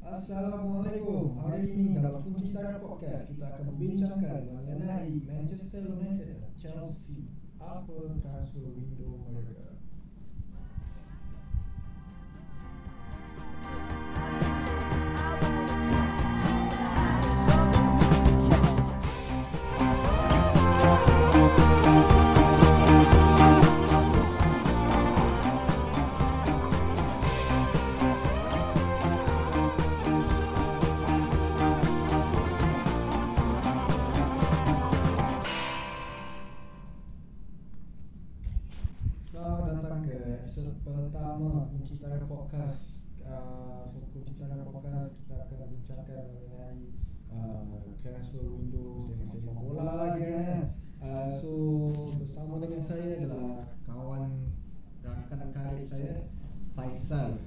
Assalamualaikum. Hari ini dalam Kunci Tarikh Podcast kita akan membincangkan mengenai Manchester United dan Chelsea. Apa transfer window mereka? Selamat datang ke episod pertama Kunci Tarikh Podcast. Kunci Tarikh Podcast kita akan bincangkan mengenai transfer window, sembang-sembang bola lagi kan. So bersama dengan saya adalah kawan rakan karib saya, Faisal.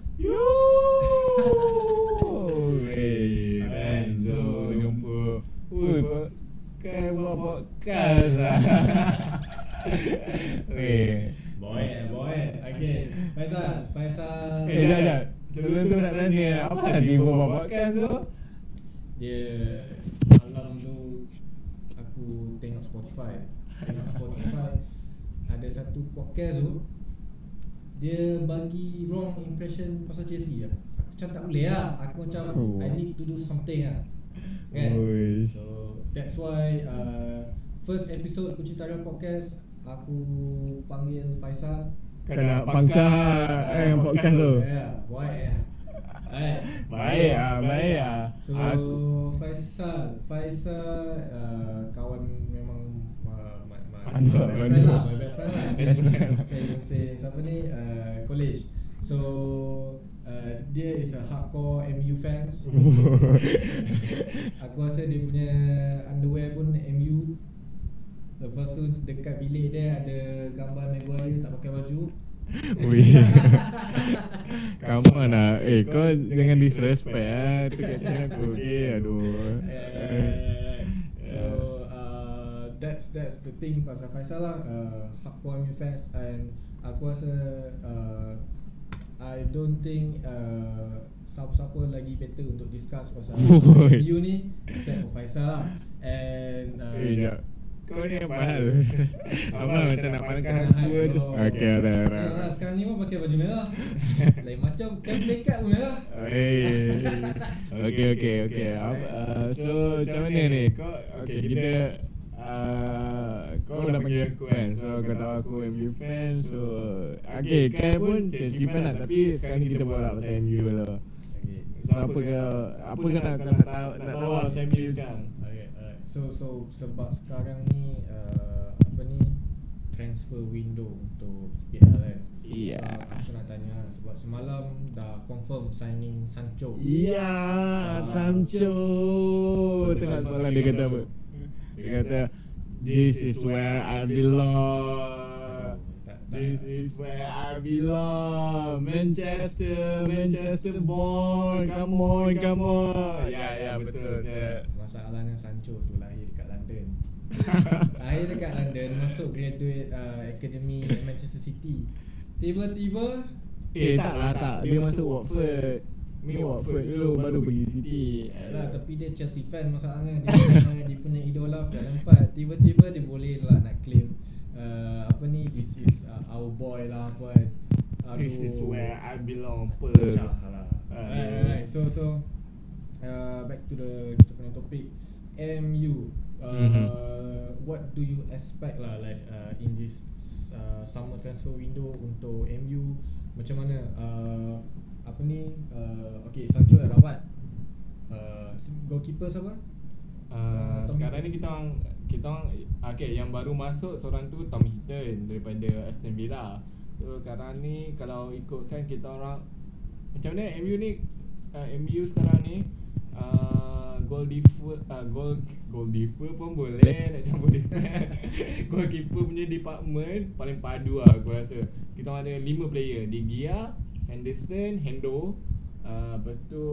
Hey, Renzo jumpa. Kan buat podcast. Boy. Okay, Faisal. Jap. Sebelum tu nak tanya, apa tadi buat podcast tu? Dia malam tu aku tengok Spotify ada satu podcast tu dia bagi wrong impression pasal Chelsea lah. Aku macam tak boleh lah. Aku macam I need to do something lah kan. So that's why first episode Kunci Tarikh Podcast aku panggil Faisal. Kena pangkat podcast tu. Ya, baik. Baik. So Faisal kawan memang my best friend lah. Saya siapa ni college. So dia is a hardcore MU fans. Aku rasa dia punya underwear pun MU. Lepas tu dekat bilik dia ada gambar Maguire tak pakai baju. Come on lah. Kau jangan disrespect tu kat channel aku. Aduh. So that's the thing pasal Faisal lah, hardcore MU fans, and aku rasa I don't think siapa-siapa lagi better untuk discuss pasal MU ni except for Faisal lah. And kau ni apa hal? Apa macam nak pandangkan aku tu? Okay, ada. Sekarang ni pun pakai baju merah. Lain macam kan blanket pun merah. Okay. So macam mana ni? Kita kau dah panggil aku kan. So kau tahu aku MU fan. So kan pun Chelsea fan lah. Tapi sekarang ni kita borak pasal MU lah. So apa kau nak tahu pasal MU sekarang? So sebab sekarang ni transfer window untuk PL kan. So aku nak tanya sebab semalam dah confirm signing Sancho. Sancho. Tengok semalam dia kata apa? Dia kata this is where I belong. This is where I belong. Manchester boy. Come on. Ya betul. Masalahnya Sancho tu lahir dekat London. Masuk graduate academy Manchester City. Tiba-tiba tak. Dia masuk Watford. Watford dulu baru pergi City. Tapi dia Chelsea fan masalahnya. Dia punya idola Fred Lampard. Tiba-tiba dia boleh lah nak claim this is our boy lah apa kan. This is where I belong. Right. So back to kita punya topik MU. What do you expect lah like in this summer transfer window untuk MU? Macam mana okay, Sancho dah dapat. Goalkeeper siapa? Sekarang ni kita okay, yang baru masuk seorang tu Tom Heaton daripada Aston Villa. So sekarang ni kalau ikutkan kita orang macam mana MU sekarang ni goal differ pun boleh nak campur dia. Goalkeeper punya department paling padu lah aku rasa. Kita ada 5 player, De Gea, Henderson, Hendo, lepas tu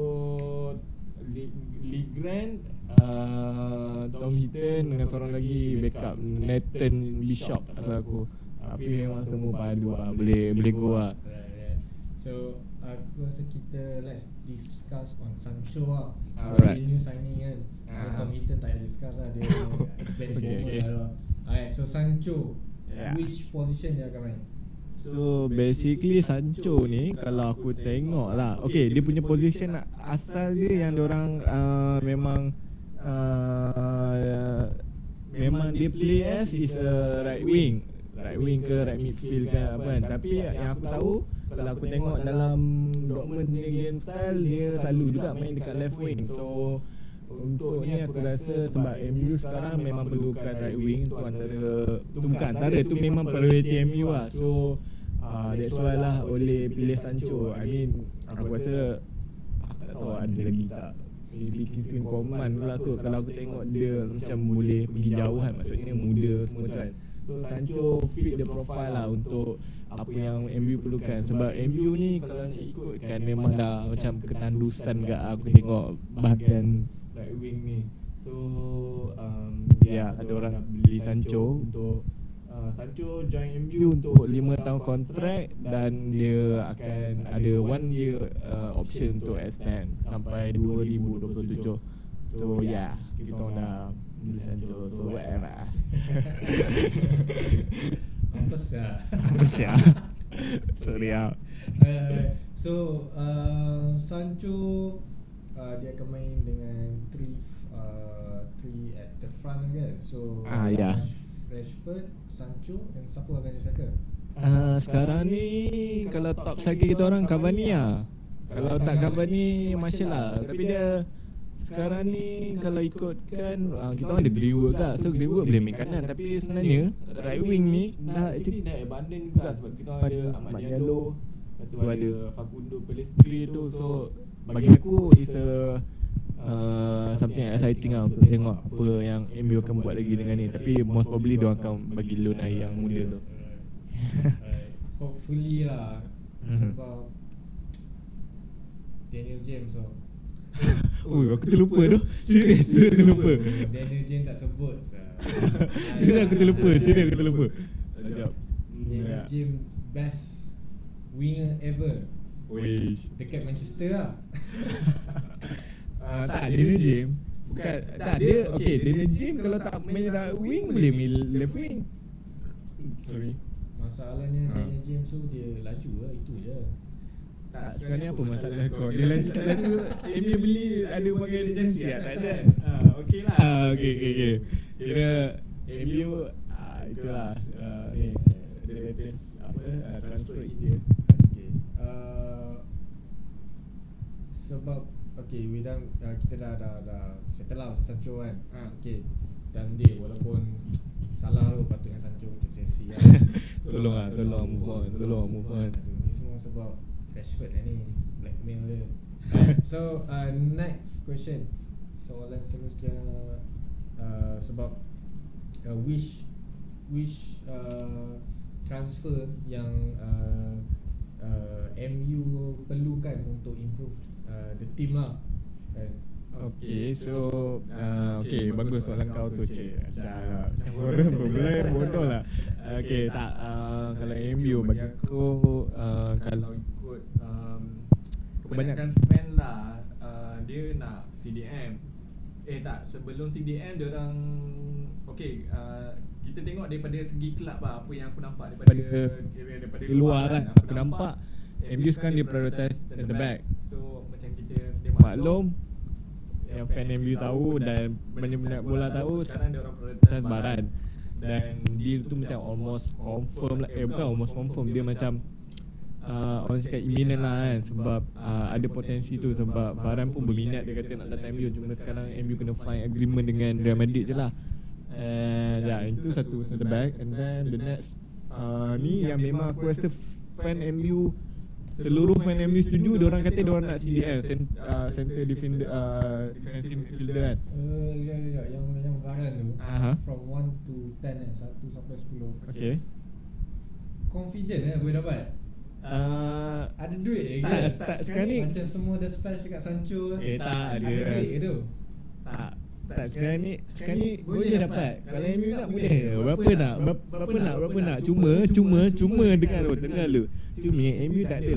Lee Grant, Tom Heaton dengan seorang lagi backup Nathan Bishop rasa aku. Tapi memang semua padu lah, boleh go lah. So So aku rasa kita let's discuss on Sancho lah. Alright. Dia new signing kan. Tom Hinton tak payah discuss lah, dia Ben Okay. lah. Alright, so Sancho, Yeah. which position dia akan main? So basically Sancho ni kalau aku tengok lah, okay, dia punya position asal dia yang diorang memang dia play as is a right wing ke right midfield ke apa kan. Tapi yang aku tahu, kalau aku tengok dalam Dortmund punya game style, dia selalu juga main dekat left wing. So untuk ni aku rasa sebab MU sekarang memang perlukan right wing tu tu memang priority MU lah. So that's why lah Ole pilih Sancho. I mean aku rasa aku tak tahu ada lagi tak, maybe Kingsley Coman pula tu. Kalau aku tengok dia macam boleh pergi jauh kan, maksudnya muda semua tu kan. So Sancho fit the profile lah untuk apa yang MU perlukan. Sebab MU ni kalau nak ikutkan memang dah macam ketandusan gak aku tengok bahagian right wing ni. So ada orang nak beli Sancho untuk Sancho join MU untuk 5 tahun kontrak, dan dia akan ada 1 year option untuk extend sampai 2027. So kita orang dah beli Sancho. So whatever. Mampus lah. Sorry lah. So Sancho dia akan main dengan 3 at the front kan. So Rashford, Sancho, and siapa akan jadi striker? Sekarang ni kalau top striker kita orang Cavani lah. Kalau tak Cavani Martial lah. Tapi dia sekarang ni kalau ikutkan kita orang ada Greenwood kan. So Greenwood boleh main kanan, tapi sebenarnya right wing ni actually dah abandon juga sebab kita ada Ahmad Diallo, lepas tu ada Facundo Pellistri tu. So bagi aku is a something exciting lah untuk tengok apa yang MU akan buat lagi dengan ni. Tapi most probably dia akan bagi loan yang muda tu. Hopefully lah. Sebab Daniel James tau. Aku terlupa tu. Serius terlupa. Daniel James tak sebut. Serius aku terlupa. Sekejap. Daniel James best winger ever Wish. dekat Manchester lah. Tak, Daniel James bukan, tak dia. Okay, Daniel James kalau tak main right wing boleh main left wing. Sorry. Masalahnya Daniel James tu dia laju lah, itu je. Tak, sekarang ni apa masalah kau? Dia laju tak laju. MU beli ada bagian agensi tak? Tak ada. okey lah. Okay. Kira MU itulah ni the latest transfer India. Okay. Sebab we kita dah settle lah Sancho kan. Okay. Dan dia walaupun salah lu patutnya Sancho untuk sesi lah. Tolong move on. Ni semua sebab Rashford ni blackmail dia. So next question. Soalan seterusnya sebab which transfer yang MU perlukan untuk improve the team lah kan. Okay, so bagus soalan kau tu, cik. Macam orang berbelai bodoh lah. Okay, tak, kalau MU bagi aku kalau ikut kebanyakan fan lah, dia nak CDM. Sebelum CDM dia orang kita tengok daripada segi kelab lah, apa yang aku nampak daripada luar kan. Aku nampak MU sekarang dia prioritize at the back. So macam kita sedia maklum, yang fan MU tahu dan banyak bola tahu, sekarang dia orang prioritize Baran. Dan deal tu macam almost confirm lah. Bukan almost confirm, dia macam orang cakap imminent lah kan. Sebab ada potensi tu. Sebab Baran pun berminat, dia kata nak datang MU. Cuma sekarang MU kena find agreement dengan Real Madrid je lah. Itu satu center back. And then the next ni yang memang aku rasa fan MU, seluruh fan MU setuju. Diorang kata diorang nak CDL, center defender, defensive midfielder kan. Yang Varane tu from 1 to 10 1 sampai 10. Okay. Confident boleh dapat. Ada duit tak sekarang ni macam semua dah splash dekat Sancho. Tak ada duit ke tu. Tak sekarang ni boleh dapat. Kalau MU nak boleh. Berapa nak. Cuma dengar lu. Cuma MU tak adalah nak apa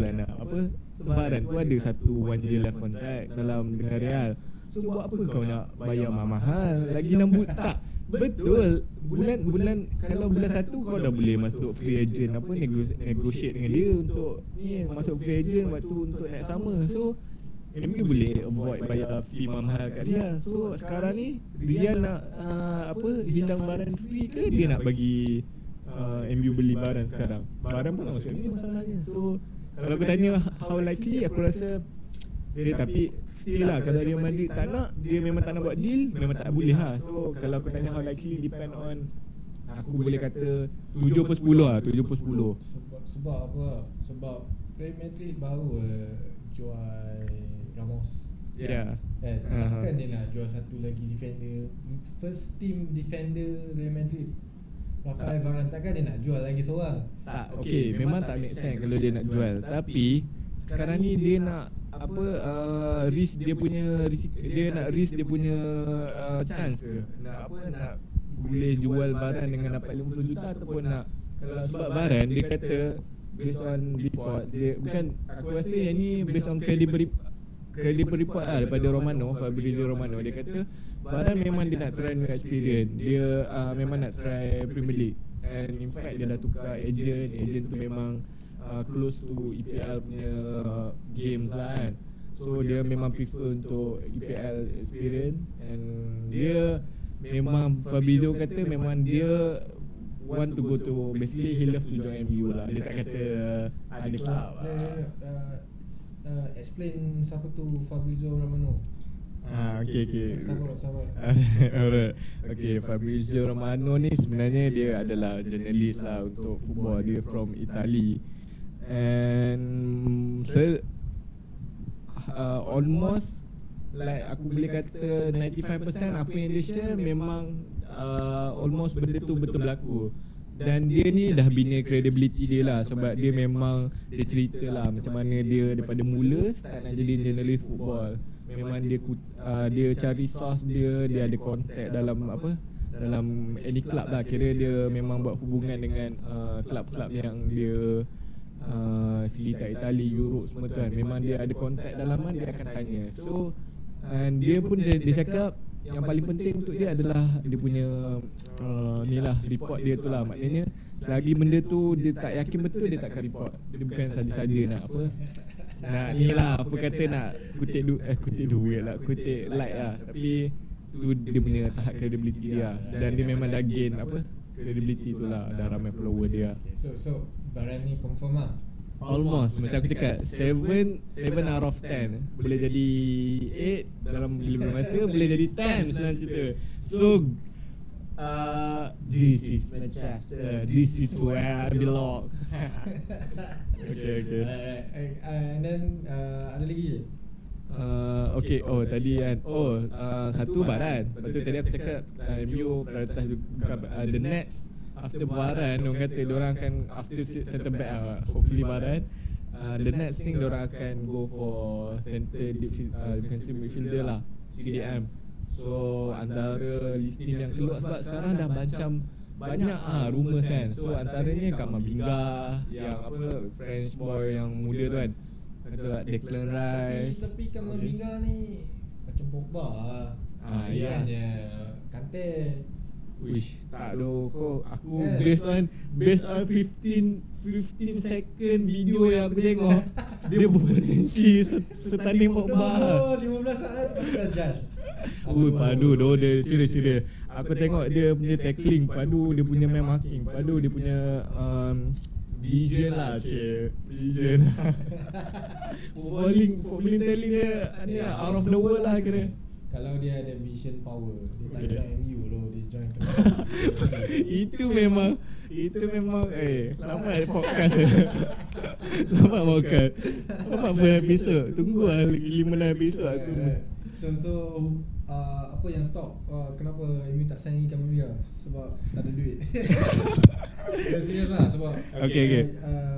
Varane tu ada satu 1 year left contract dengan Real. So buat apa kau nak bayar mahal lagi 6 bulan? Tak betul. Bulan kalau bulan 1 kau dah boleh masuk free agent, negotiate dengan dia untuk ni masuk free agent, waktu untuk naik sama. So MU boleh avoid bayar fee mahal kat dia. So sekarang ni Real nak hindang Varane free ke dia nak bagi MU beli Varane sekarang? Varane pun nak masuk MU masalahnya. So kalau aku tanya how likely, aku rasa dia, tapi still lah, kalau Real Madrid tak nak, dia memang tak nak buat deal, memang tak boleh lah. So kalau aku tanya how likely, depend on, aku boleh kata 7/10 lah, 7/10. Sebab apa? Sebab Real Madrid baru jual Ramos. Ya. Takkan dia nak jual satu lagi defender, first team defender Real Madrid, Rafael Varane, takkan dia nak jual lagi seorang? Tak, okay, memang tak make sense kalau dia nak jual. Tapi sekarang ni dia nak risk dia punya chance ke? Nak boleh jual Varane dengan dapat 50 juta ataupun nak, kalau sebab Varane dia kata based on report dia, bukan, aku rasa yang ni based on credible report lah daripada Fabrizio Romano. Dia kata Varane memang dia nak try new experience. Dia memang nak try Premier League. And in fact dia dah tukar agent tu memang close to EPL punya games lah kan. So dia memang prefer untuk EPL experience. And dia memang, Fabrizio kata memang dia want to go to, basically he love to join MU lah. Dia tak kata ada club. Explain siapa tu Fabrizio Romano. Okay. Sabar. Alright. Okay, Fabrizio Romano ni sebenarnya dia adalah jurnalis lah untuk football. Dia from Italy. And almost like aku boleh kata 95% apa yang dia share memang almost benda tu betul berlaku. Dan dia ni dah bina credibility dia lah, sebab dia memang, dia cerita lah macam mana dia daripada mula start nak jadi jurnalis football. Memang dia cari source dia ada contact dalam any club lah. Kira dia memang buat hubungan dengan club-club yang dia sekitar Itali, Europe semua tu kan. Memang dia ada contact dalaman, dia akan tanya. So and dia pun dia cakap yang paling penting untuk dia adalah dia punya ni lah, report dia tu lah. Maknanya selagi benda tu dia tak yakin betul, dia takkan report. Dia bukan saja-saja nak nak ni lah, apa kata nak kutip duit lah, kutip like lah. Tapi tu dia punya tahap credibility dia. Dan dia memang dah gain credibility tu lah, dah ramai follower dia. So Varane ni confirm lah. Almost, macam aku cakap 7 out of 10. Boleh jadi 8 dalam 5 masa, boleh jadi 10 senang cerita. So this is Manchester, this is where I belong. Okay. And then ada lagi je? Okay, tadi kan satu Varane. Lepas tu tadi aku cakap MU prioritas the next after Varane, orang kata diorang akan after center back hopefully Varane, the next thing diorang akan go for center defensive midfielder lah, CDM. So antara listing yang keluar, sebab sekarang dah macam banyak rumours kan. So antaranya Kamavinga, yang French boy yang muda tu kan, kata Declan Rice. Tapi Kamavinga ni macam Pogba lah. Bukannya Kante. Wish tak doh kau, aku based on 15 second video yang aku tengok, dia berpotensi setanding Pogba. 15 saat dah judge. Padu doh dia serius. Aku tengok dia punya tackling, padu dia punya man marking, padu dia punya vision lah, vision. Footballing telling dia ni out of the world lah kira. Kalau dia ada vision power, dia tak join MU loh, dia join club. Itu memang selamat podcast. Selamat episod. Tunggu lah lagi 5 episod aku. So apa yang stop kenapa MU tak sign Kamavinga? Sebab tak ada duit. Serius lah, sebab Okay.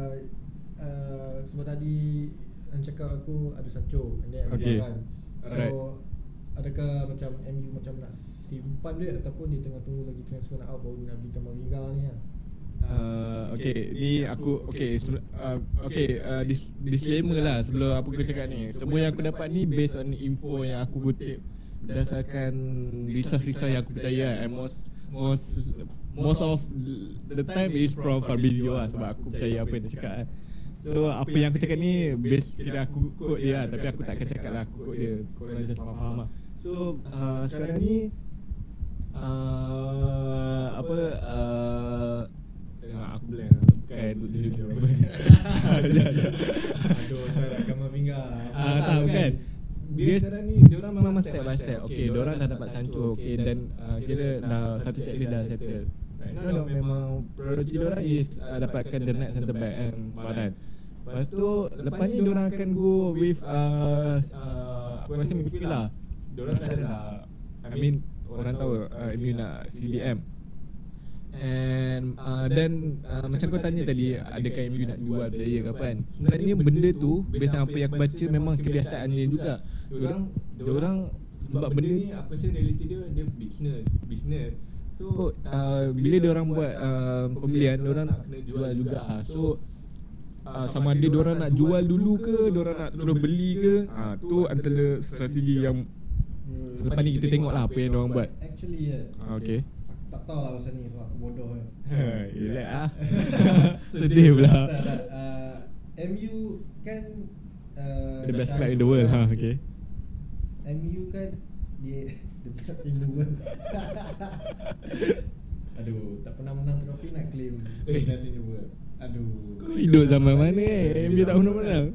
Sebab tadi yang cakap aku ada Sancho and then kan. So adakah macam MU macam nak simpan duit ataupun dia tengah tunggu lagi transfer nak out baru nak beli Kamavinga ni lah? Okay, ni aku disclaimer lah sebelum aku cakap ni. Semua yang aku dapat ni based on info yang aku kutip berdasarkan research yang aku percaya, and most of the time is from Fabrizio lah, sebab aku percaya apa yang dia cakap. So apa yang aku cakap ni base kira aku quote dia lah, tapi aku tak akan cakap lah aku quote dia, korang just faham lah. So sekarang ni aku blank lah, bukan tu Aduh, tak nak kamar pinggang. tak bukan. Dia sekarang ni diorang memang step by step. Okay, diorang dah dapat Sancho, okay, dan kira dah satu checklist dah settle. Right now memang priority diorang is dapatkan the next center back and Varane. Lepas tu lepas ni diorang akan go with aku rasa midfield lah. Diorang dah ada, I mean orang tahu MU nak CDM. And then macam kau tanya tadi, adakah MU nak jual player ke apa kan? Sebenarnya benda tu based on apa yang aku baca memang kebiasaan dia juga. Diorang sebab benda ni aku rasa reality dia business. So bila diorang buat pembelian, diorang nak kena jual juga. So sama ada diorang nak jual dulu ke, diorang nak terus beli ke, tu antara strategi yang lepas ni kita tengok lah apa yang diorang buat. Actually Okay. aku tak tahu lah pasal ni sebab aku bodoh kan. Relax lah. Sedih pula. MU kan The best club in the world. Okay. MU kan dia the best in the world. Aduh, tak pernah menang trofi nak claim the best in the world. Aduh, Kau hidup zaman mana MU tak pernah menang?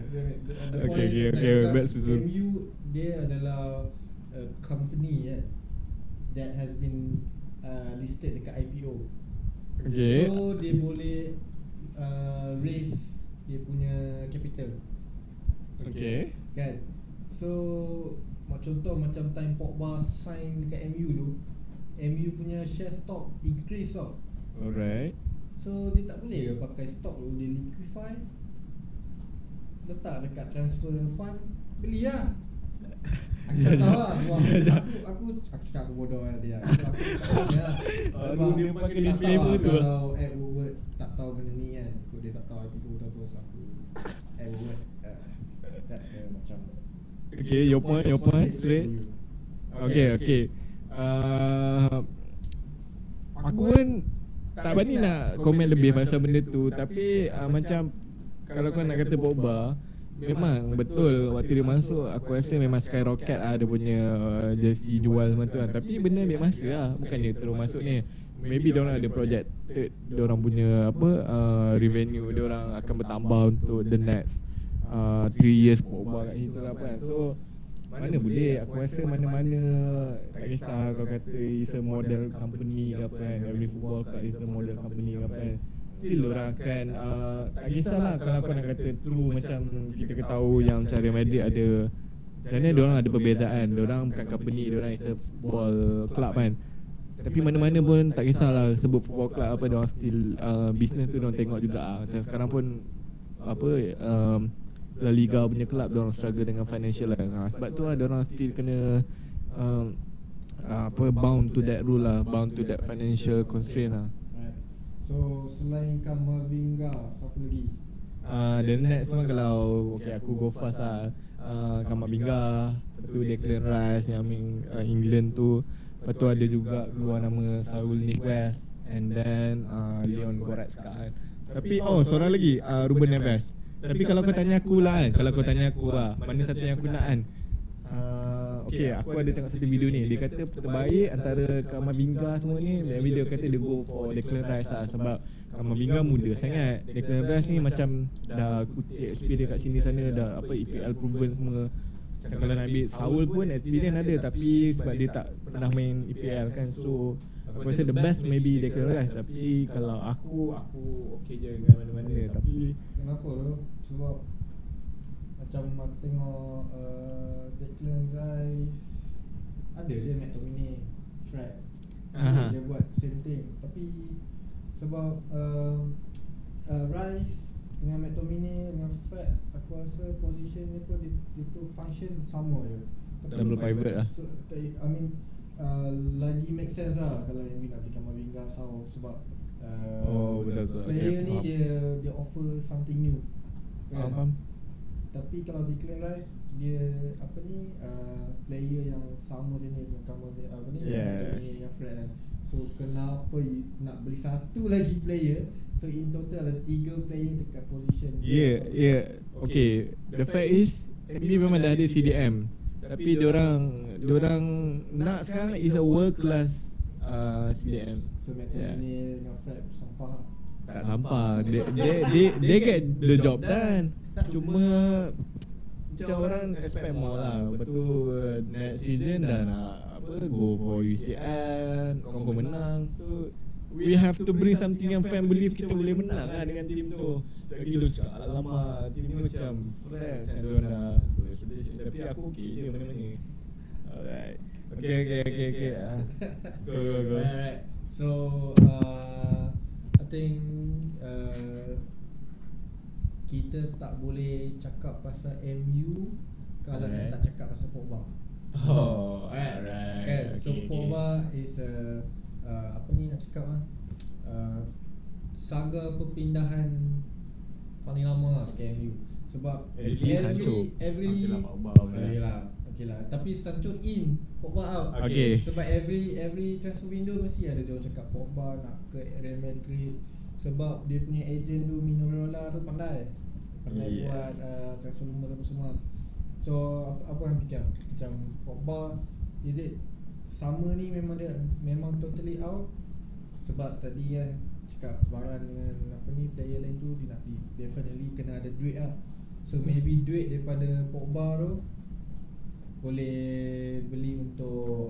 Okay, back to MU dia adalah a company that has been listed dekat IPO. Okay. So dia boleh raise dia punya capital. Okay. Kan? So contoh macam time Pogba sign dekat MU tu, MU punya share stock increase tau. Alright. So dia tak boleh ke pakai stock tu, dia liquify, letak dekat transfer fund, beli lah. Aku tak tahu lah sebab aku cakap aku bodoh lah dia. So aku tak tahu lah. Sebab dia pakai tak tahu disclaimer lah tu. kalau Ed Woodward tak tahu benda ni kan. Kau dia tak tahu IPO tu apa, so aku Ed Woodward that's macam Okay, your point straight. Okay. Aku pun tak berani nak komen lebih pasal benda tu, tapi macam kalau kau nak kata Pogba, memang betul waktu dia masuk aku rasa memang skyrocket lah dia punya jersey jual semua tu kan. Tapi benda ambil masa lah, bukan dia terus masuk ni. Maybe diorang ada projected diorang punya revenue diorang akan bertambah untuk the next 3 years Pogba kat situ apa kan. So mana boleh, aku rasa mana-mana tak kisah kau kata is a model company ke apa kan, every football club is a model company ke apa kan, still diorang akan tak kisahlah kalau kau nak kata true macam kita ketahui yang macam Real Madrid ada sebenarnya diorang ada perbezaan, diorang bukan company, diorang is a football club kan. Tapi mana-mana pun tak kisahlah sebut football club apa, diorang still business tu diorang tengok juga. Macam sekarang pun La Liga punya club diorang struggle dengan financial lah. Sebab tu lah diorang still kena bound to that rule lah, bound to that financial constraint lah. right. So selain Kamavinga, siapa lagi? The next one kalau aku go fast lah, Kamavinga, lepas tu Declan Rice yang England tu, lepas tu ada juga keluar nama Saul Niguez, and then Leon Goretzka kan. Tapi seorang lagi Ruben Neves. Tapi kalau kau tanya aku lah mana satu yang aku nak kan, aku ada tengok satu video ni, dia kata terbaik antara Kamavinga semua ni, maybe dia kata dia go for Declan Rice lah. Sebab Kamavinga muda sangat, Declan Rice ni macam dah kutip experience kat sini sana, dah EPL proven semua. Macam kalau nak ambil Saul pun experience ada, tapi sebab dia tak pernah main EPL kan, so aku rasa the best maybe Declan Rice. Tapi kalau aku okay je dengan mana-mana. Tapi Kenapa tu? Sebab macam aku tengok Declan Rice ada je McTominay, Fred, dia buat same thing. Tapi sebab Rice dengan McTominay dengan Fred, aku rasa position ni pun dia tu function sama je. double pivot lah. So, I mean lagi make sense lah kalau MU nak beli Kamavinga sebab Betul. Player Okay, ni faham. dia offer something new kan? Faham. Tapi kalau Declan Rice dia player yang sama jenis Yeah. yang Fred kan. So kenapa nak beli satu lagi player? So in total ada 3 player dekat position Yeah. Okay, the fact is MU memang dah ada CDM, tapi diorang nak sekarang is a world class CDM. So McTominay dengan Fred sampah. Tak sampah. They get the job done. Cuma macam orang expect more lah. Lepas tu next season dah nak go for UCL, confirm menang. So we have to bring something yang fan believe kita boleh menang lah dengan team tu. Lagi lu cakap alamak, team ni macam Fred macam diorang dah tapi aku okay je mana-mana. Alright. Okay. Go. Alright. So I think kita tak boleh cakap pasal MU kalau kita tak cakap pasal Pogba. Alright. Okay. So Pogba is nak cakap saga perpindahan paling lama dekat MU. Sebab every Okay lah. Tapi Sancho in, Pogba out. Okay. Sebab every transfer window mesti ada orang cakap Pogba nak ke Real Madrid. Sebab dia punya agent tu Mino Raiola tu pandai buat transfer rumor apa semua. So apa yang fikir macam Pogba, is it summer ni memang totally out? Sebab tadi kan cakap Varane dengan player lain tu dia nak definitely kena ada duit lah. So maybe duit daripada Pogba tu boleh beli untuk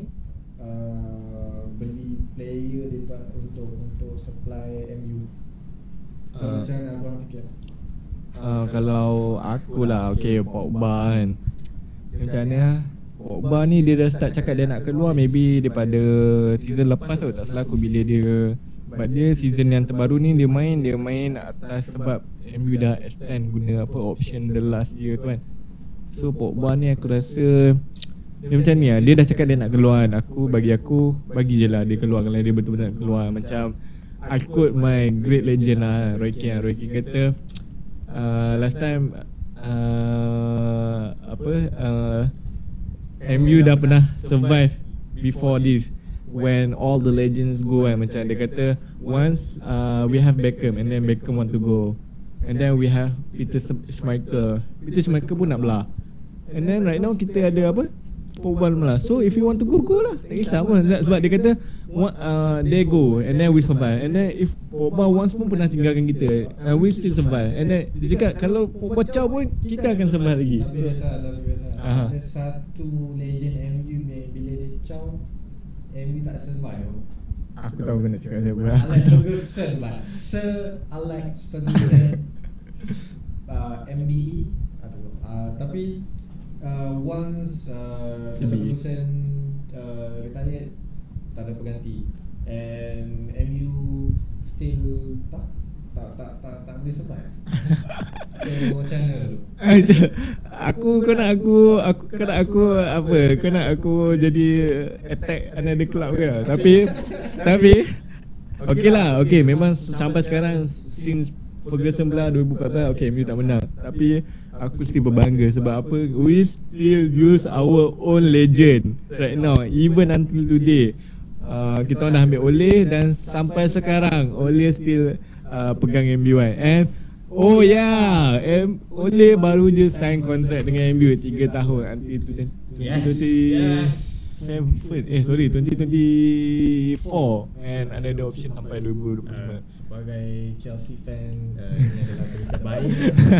beli player untuk supply MU. So macam mana abang fikir? Kalau aku lah, okay, Pogba kan, macam mana Pogba ni dia dah start cakap dia nak keluar maybe daripada season lepas tu, tak salah aku, bila dia but dia season yang terbaru ni dia main atas sebab MU dah extend guna option the last year tu kan. So Pogba ni aku rasa dia macam ni lah, dia dah cakap dia nak keluar kan. Bagi je lah dia keluar kalau dia betul-betul nak keluar. Macam I quote my great legend lah, Roy Keane kata last time MU dah pernah survive before this when all the legends go kan. Macam dia kata once we have Beckham and then Beckham want to go, and then we have Peter Schmeichel pun nak belah, and then right now kita ada Pogba belah. So if you want to go lah, tak kisah pun. Sebab dia kata they go and then we survive, and then if Pogba once pun pernah tinggalkan kita, we still survive. And then dia cakap kalau Pogba caw pun kita akan survive lagi. Tapi biasa ada satu legend MU bila dia caw MU tak survive. Aku tahu kena cakap siapa. Alex Ferguson lah, Sir Alex Ferguson, MBE. Tapi once Sir Ferguson retired, tak ada pengganti, and MU still tak boleh survive. So macam mana tu? Kau nak aku jadi attack another club ke? Tapi okay lah, okay, memang sampai sekarang since Ferguson belah 2014, okay, MU tak menang. Tapi aku still berbangga sebab apa? We still use our own legend right now, even until today. Kita dah ambil Ole dan sampai sekarang Ole still pegang MU kan. And Ole baru je sign kontrak dengan MU 3 tahun until 2024 and ada option sampai 2025. Sebagai Chelsea fan, ini adalah berita baik.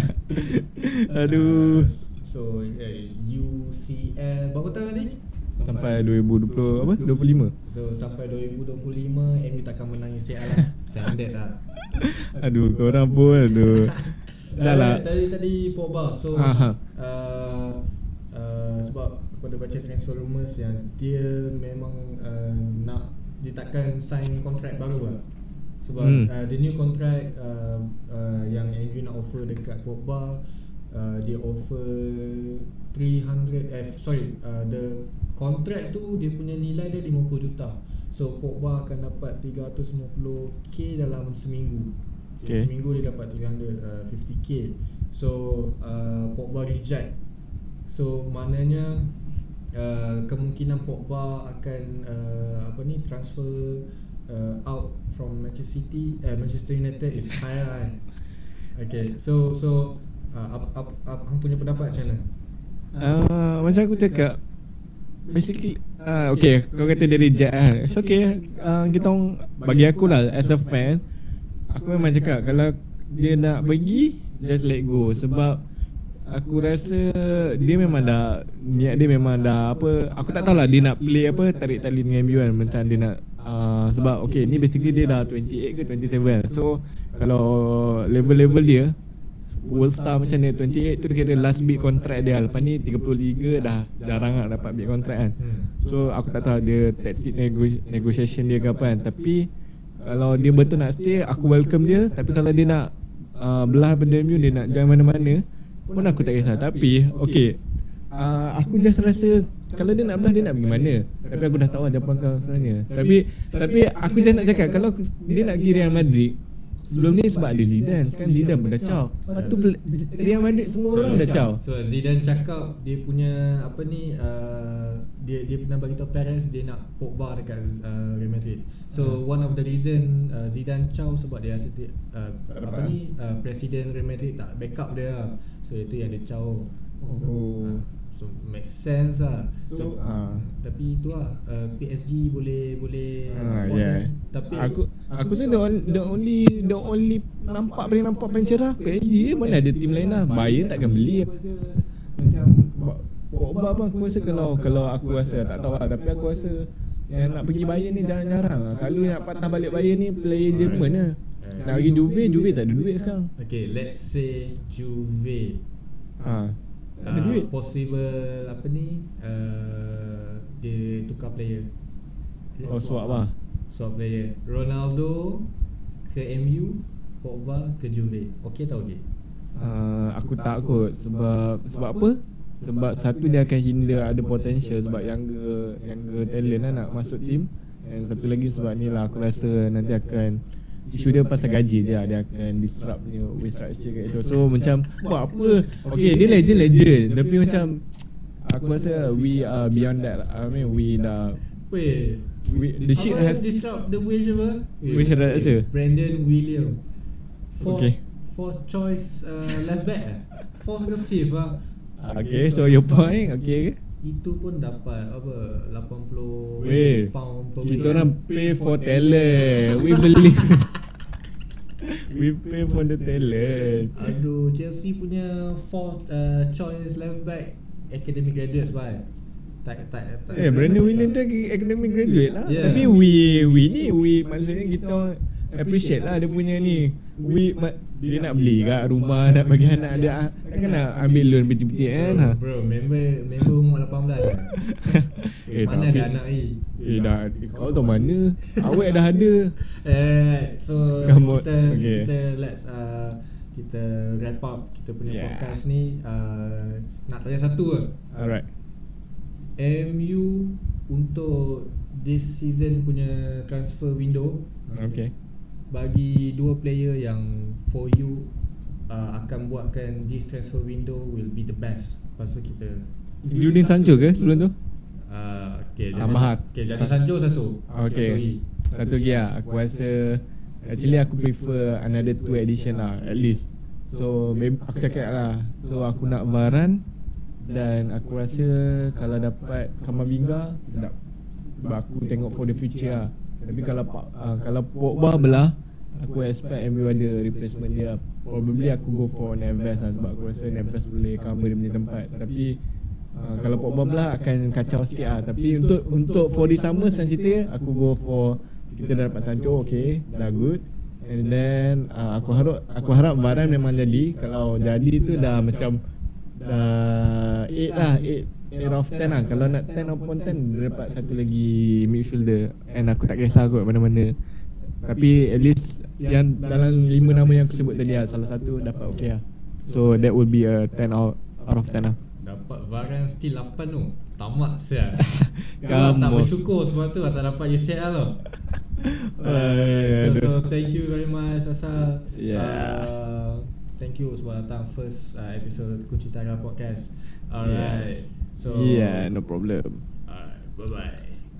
Aduh. So UCL berapa tahun ni? Sampai 2025. So sampai 2025 MU takkan menang UCL lah. Standard lah. Aduh, korang pun dah lah. Tadi Pogba. So sebab aku ada baca transfer rumours yang dia memang dia takkan sign kontrak baru lah. Sebab the new contract yang MU nak offer dekat Pogba, dia offer 300 the kontrak tu dia punya nilai dia 50 juta. So Pogba akan dapat 350k dalam seminggu. Okay. Seminggu dia dapat 350k. So Pogba reject. So maknanya kemungkinan Pogba akan transfer out from Manchester United is higher. Okay, so apa punya pendapat macam mana? Macam aku cakap, basically okay, kau kata dia reject kan. It's okay. Kita orang, bagi aku lah as a fan, aku memang cakap kalau dia nak pergi, just let go. Sebab aku rasa dia memang dah, niat dia memang dah apa, aku tak tahulah dia nak play apa, tarik tali dengan MU kan. Macam dia nak sebab okay, ni basically dia dah 28 ke 27. So kalau level-level dia World Star macam ni, 28 tu kira last big contract dia. Lepas ni 33 dah jarang nak dapat big contract kan. So aku tak tahu dia tactic negotiation dia ke apa kan. Tapi kalau dia betul nak stay, aku welcome dia. Tapi kalau dia nak belah pada MU, dia nak join mana-mana pun aku tak kisah. Tapi okay, aku just rasa kalau dia nak belah, dia nak pergi mana. Tapi aku dah tahu jawapan kau sebenarnya. Tapi aku just nak cakap, kalau dia nak pergi Real Madrid, sebelum ni sebab ada Zidane. Sekarang Zidane pun dah caw. Lepas tu Real Madrid semua orang dah caw. So Zidane cakap dia punya dia pernah bagi tahu Perez dia nak Pogba dekat Real Madrid. So one of the reason Zidane caw sebab dia rasa presiden Real Madrid tak backup dia lah. So itu yang dia caw. So make sense lah. So, tapi tu lah, PSG boleh afford yeah. Tapi aku rasa the only nampak paling cerah PSG je. Mana ada tim lain lah. Bayern takkan beli. Macam Pogba apa, aku rasa kalau aku rasa tak tahu lah, tapi aku rasa yang nak pergi Bayern ni jarang-jarang lah. Selalu nak patah balik Bayern ni player Jerman lah. Nak pergi Juve tak ada duit sekarang. Okay, let's say Juve ada duit. Possible dia tukar player. Swap lah. Swap player. Ronaldo ke MU, Pogba ke Juve. Okay tak okay? Aku takut sebab apa? Sebab satu dia akan hinder ada potential sebab younger talent lah nak masuk tim. Dan satu lagi sebab ni lah aku rasa nanti akan isu dia pasal gaji dia akan disrupt punya wage structure kat itu. So macam buat apa? Okay, dia legend tapi macam aku rasa we are beyond that. I mean we dah the shit has disrupt the wage apa? Wage structure. Brandon William. Fourth choice left back. Fourth ke fifth lah. Okay, so your point, okay. Itu pun dapat apa 80 pound per week. Kita orang pay for talent. We believe. We pay for the talent. Aduh, Chelsea punya fourth choice left back academic graduates right. Tak Brandon Williams tu academic graduate lah. Yeah. Tapi we maksudnya kita appreciate lah dia punya ni. Dia nak beli kat rumah, nak bagi anak dia, kan nak ambil loan betul-betul kan. Bro, member umur 18 lah. Mana ada anak ni? Dah kau tahu mana? Awak dah ada. So kita let's kita wrap up kita punya podcast ni. Nak tanya satu ke? Alright. MU untuk this season punya transfer window, okay, bagi dua player yang for you akan buatkan this transfer window will be the best. Lepas tu kita including Sancho ke sebelum tu? Jadi Sancho satu. Okay, satu lagi lah. Aku rasa actually aku prefer another 2 addition lah at least. So aku cakap lah, so aku nak Varane. Dan aku rasa kalau dapat Kamavinga sedap. Sebab aku tengok for the future lah. Tapi kalau Pogba belah, aku expect MU ada replacement dia. Probably aku go for Neves lah, sebab aku rasa Neves boleh cover dia punya tempat. Tapi kalau Pogba belah akan kacau sikit lah. Tapi untuk for the summer cerita, aku go for, kita dah dapat Sancho, okay, dah good. And then aku harap Varane memang jadi. Kalau jadi tu dah macam 8 of 10 lah. Kalau nak 10 upon 10, dia dapat satu lagi midfielder. And aku tak kisah kot mana-mana. Tapi at least yang dalam 5 nama yang aku sebut tadi lah, salah satu dapat okay lah. So that will be a 10 out of 10 lah. Dapat Varane still 8 tu. tamak sial. Kalau tak Kamu. bersyukur sebab tu tak dapat UCL tau. So thank you very much Asal. Thank you sebab datang first episode Kunci Tara Podcast. Alright. So Yeah, no problem. alright, bye bye.